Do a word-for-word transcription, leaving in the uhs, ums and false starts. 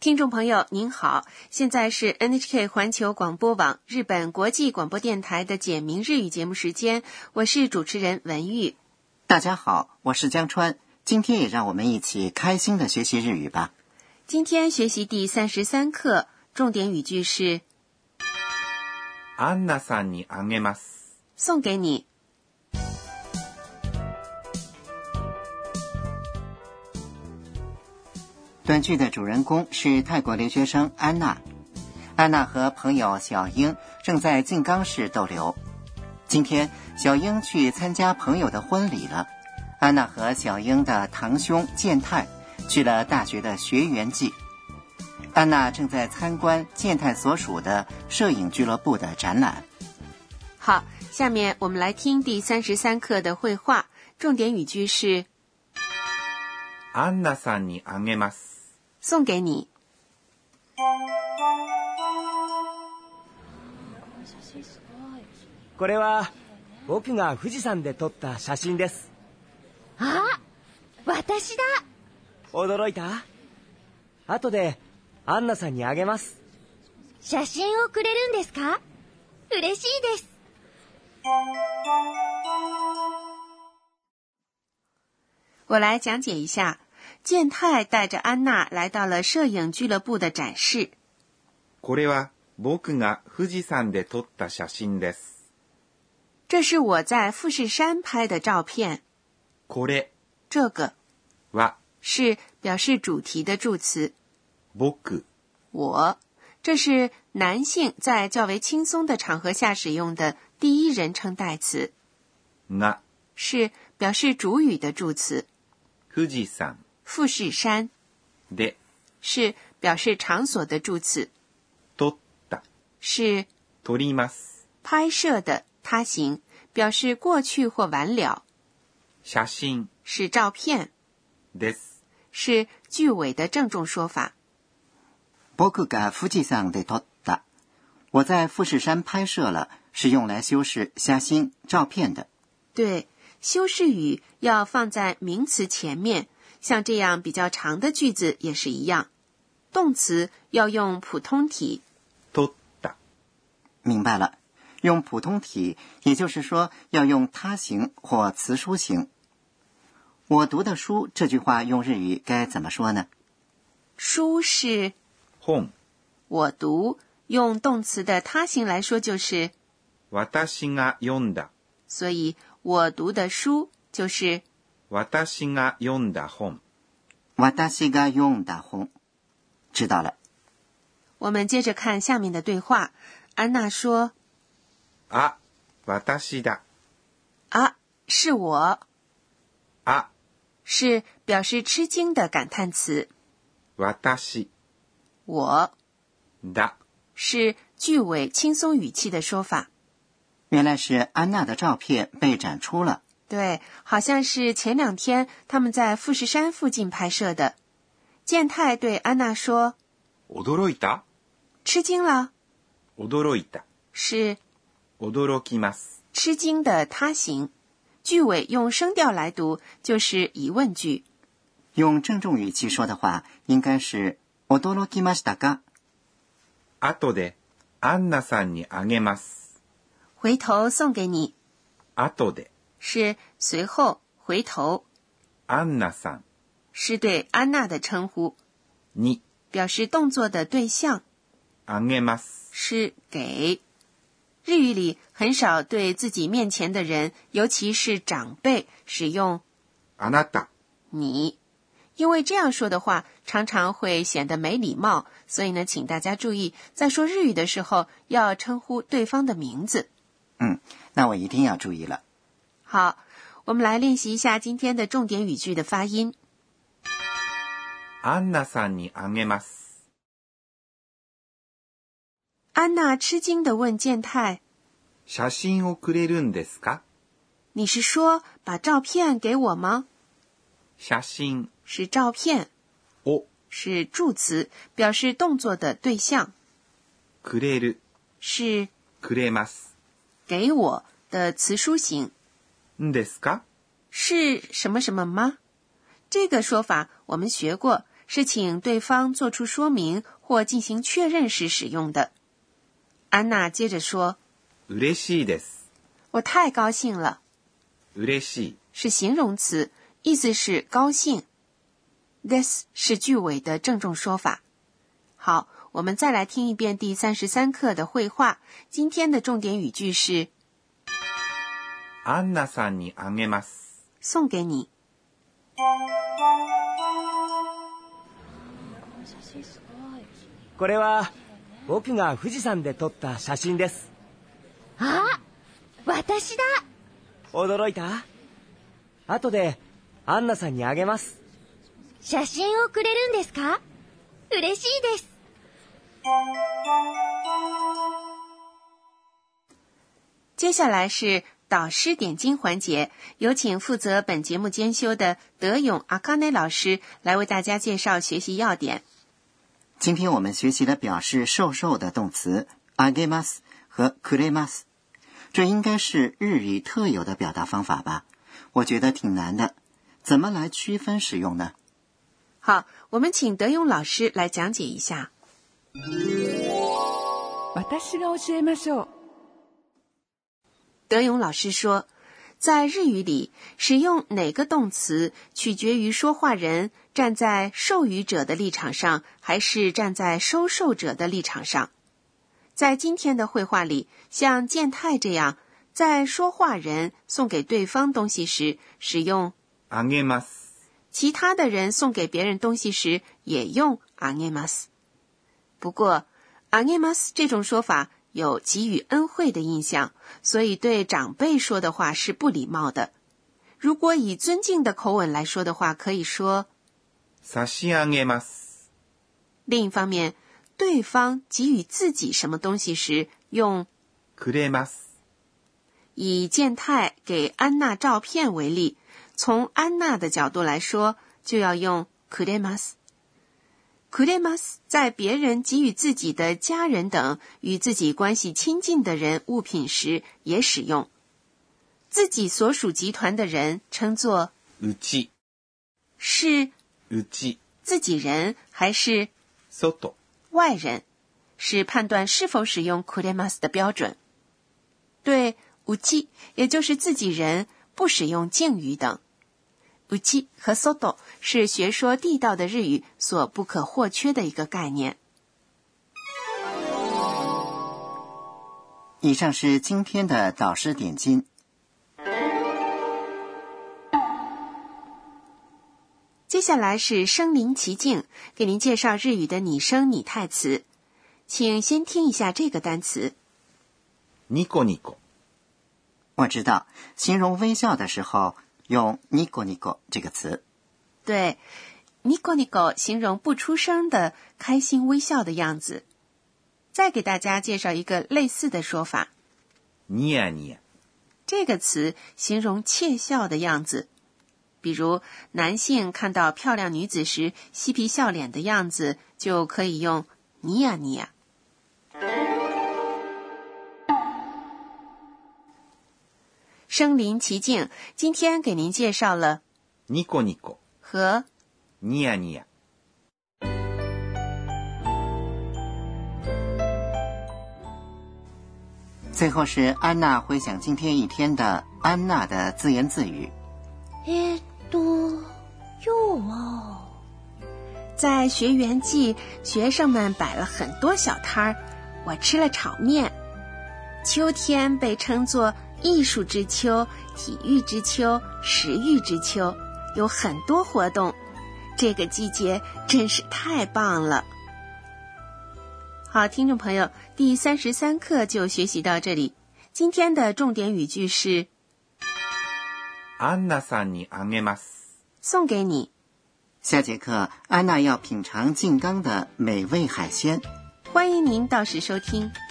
听众朋友您好，现在是 N H K 环球广播网日本国际广播电台的简明日语节目时间，我是主持人文玉。 大家好，我是江川，今天也让我们一起开心的学习日语吧。 今天学习第三十三课，重点语句是アンナさんにあげます。 送给你。 短剧的主人公是泰国留学生安娜。安娜和朋友小英正在静冈市逗留。今天小英去参加朋友的婚礼了。安娜和小英的堂兄健太去了大学的学园季。安娜正在参观健太所属的摄影俱乐部的展览。 好，下面我们来听第三十三课的绘画，重点语句是アンナさんにあげます。 送给你。 これは僕が富士山で撮った写真です。 あ、私だ。 驚いた？後でアンナさんにあげます。 写真をくれるんですか？嬉しいです。 我来讲解一下。健太带着安娜来到了摄影俱乐部的展示。 これは僕が富士山で撮った写真です。 这是我在富士山拍的照片。 これ这个は是表示主题的助词。 僕我，这是男性在较为轻松的场合下使用的第一人称代词。 が是表示主语的助词。 富士山富士山で是表示场所的助词。 撮った是撮ります拍摄的他形，表示过去或完了。 写真是照片です是句尾的郑重说法。 僕が富士山で撮った。我在富士山拍摄了，是用来修饰写真照片的。 对，修饰语要放在名词前面，像这样比较长的句子也是一样。动词要用普通体。 撮った。 明白了，用普通体，也就是说要用他形或词书形。我读的书这句话用日语该怎么说呢？ 书是本。 我读，用动词的他形来说就是私が読んだ。 所以我读的书就是私が読んだ本。 私が読んだ本。知道了。 我们接着看下面的对话。安娜说あ、私だ。 啊，是我。 あ是表示吃惊的感叹词。 私我だ是句尾轻松语气的说法。 原来是安娜的照片被展出了。 对，好像是前两天他们在富士山附近拍摄的。健太对安娜说驚いた？ 吃惊了。 驚いた是驚きます。 吃惊的他形，句尾用声调来读就是疑问句。 用郑重语气说的话应该是驚きましたか？ 後でアンナさんにあげます。 回頭送给你。 後で是随后回头。 アンナさん是对安娜的称呼。 に表示动作的对象。 あげます是给。日语里很少对自己面前的人，尤其是长辈，使用あなた你，因为这样说的话常常会显得没礼貌，所以呢，请大家注意，在说日语的时候要称呼对方的名字。 嗯，那我一定要注意了。 好，我们来练习一下今天的重点语句的发音。 アンナさんにあげます。 安娜吃惊地问健太： 写真をくれるんですか？ 你是说把照片给我吗？ 写真是照片， を是助词，表示动作的对象。 くれる是くれます给我的词书形。 んですか？ 是什么什么吗？这个说法我们学过， 是请对方做出说明或进行确认时使用的。安娜接着说， 嬉しいです。 我太高兴了。 嬉しい是形容词，意思是高兴。this 是句尾的郑重说法。好，我们再来听一遍第三十三课的绘画。今天的重点语句是アンナさんにあげます。 送给你。 これは僕が富士山で撮った写真です。 あ、私だ。 驚いた？後でアンナさんにあげます。 写真をくれるんですか？嬉しいです。 接下来是导师点睛环节，有请负责本节目监修的德勇阿卡内老师来为大家介绍学习要点。 今天我们学习的表示授受的动词あげます和くれます，这应该是日语特有的表达方法吧？我觉得挺难的，怎么来区分使用呢？ 好，我们请德勇老师来讲解一下。 私が教えましょう。 德勇老师说，在日语里，使用哪个动词取决于说话人站在授予者的立场上，还是站在收受者的立场上。在今天的绘画里，像健太这样，在说话人送给对方东西时使用あげます， 其他的人送给别人东西时也用あげます。不过あげます这种说法有给予恩惠的印象，所以对长辈说的话是不礼貌的。如果以尊敬的口吻来说的话，可以说差し上げます。 另一方面，对方给予自己什么东西时用くれます。 以健太给安娜照片为例，从安娜的角度来说，就要用くれます。くれます在别人给予自己的家人等与自己关系亲近的人物品时也使用。自己所属集团的人称作うち， 是うち自己人还是外， 外人，是判断是否使用くれます的标准。对うち也就是自己人不使用敬语等。うち和外是学说地道的日语所不可或缺的一个概念。 以上是今天的导师点睛。 接下来是身临其境，给您介绍日语的拟声拟态词。请先听一下这个单词。 ニコニコ。 我知道，形容微笑的时候用ニコニコ这个词。 对，ニコニコ形容不出声的开心微笑的样子。再给大家介绍一个类似的说法。 ニヤニヤ。 这个词形容窃笑的样子。比如男性看到漂亮女子时嬉皮笑脸的样子，就可以用ニヤニヤ。身临其境，今天给您介绍了ニコニコ和ニヤニヤ。 最后是安娜回想今天一天的安娜的自言自语。 えーっと、今日は在学园季，学生们摆了很多小摊儿，我吃了炒面。秋天被称作艺术之秋、体育之秋、食欲之秋，有很多活动。这个季节真是太棒了。好，听众朋友，第三十三课就学习到这里。今天的重点语句是アンナさんにあげます。 送给你。 下节课安娜要品尝静冈的美味海鲜。 欢迎您到时收听。